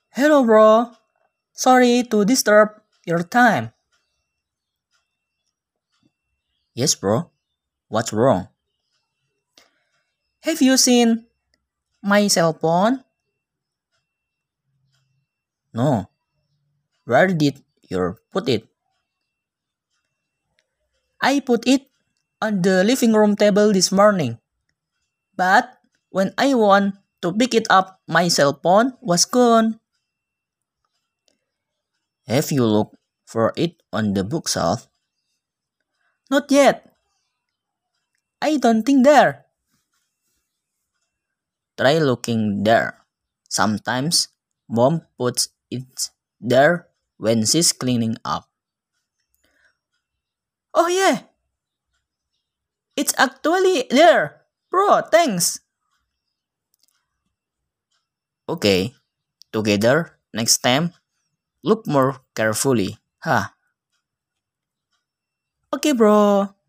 Hello, bro. Sorry to disturb your time. Yes, bro. What's wrong? Have you seen my cell phone? No. Where did you put it? I put it on the living room table this morning. But when I want to pick it up, my cell phone was gone. Have you looked for it on the bookshelf? Not yet. I don't think there. Try looking there. Sometimes mom puts it there when she's cleaning up. Oh yeah, it's actually there. Bro, thanks. Okay, together next time, look more carefully. Huh. Okay, bro.